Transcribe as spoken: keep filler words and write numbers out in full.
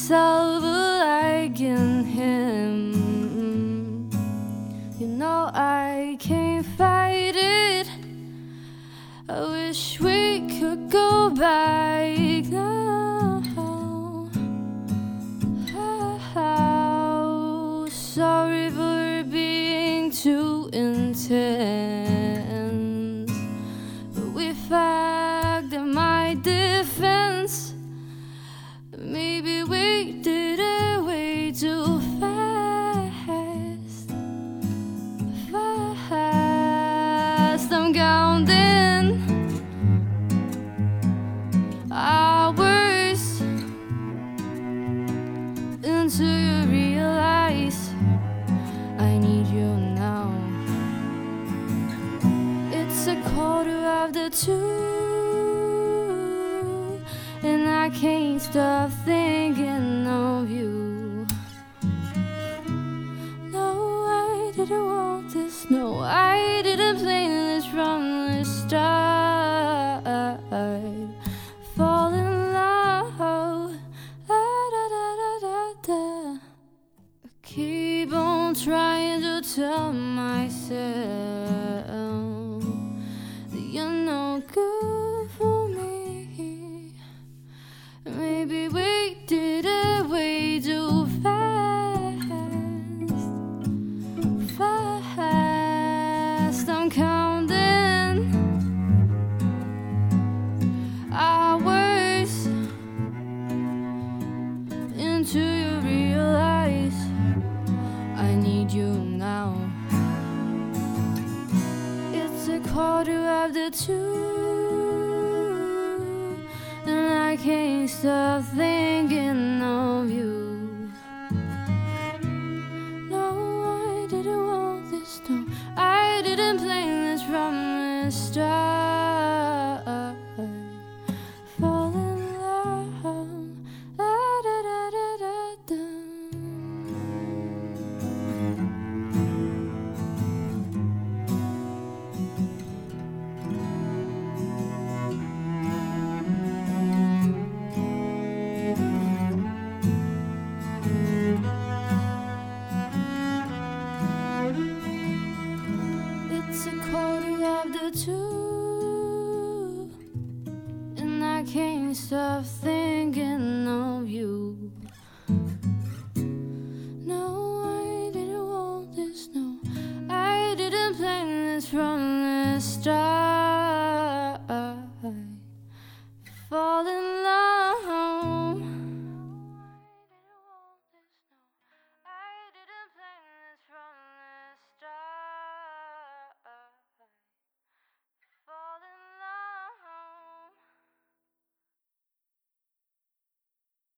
myself liking him. You know I can't fight it. I wish we could go back now. Oh, sorry for being too intense, but we fagged in my defense. Maybe we did it way too fast. Fast, I'm counting hours until you realize I need you now. It's a quarter after two, and I can't stop thinking of you. No, I didn't want this. No, I didn't plan this from the start. Fall in love. Da, da, da, da, da, da. I keep on trying to tell myself that you're no good for me. Maybe we did it way too fast. Fast, I'm counting hours until you realize I need you now. It's a quarter after two, and I can't stop thinking of you. No, I didn't want this. No, I didn't plan this from the start. Fall in love. Da, da, da, da, da, da. It's a quarter after two, and I can't stop thinking